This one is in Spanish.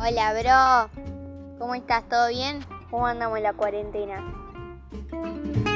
Hola, bro. ¿Cómo estás? ¿Todo bien? ¿Cómo andamos en la cuarentena?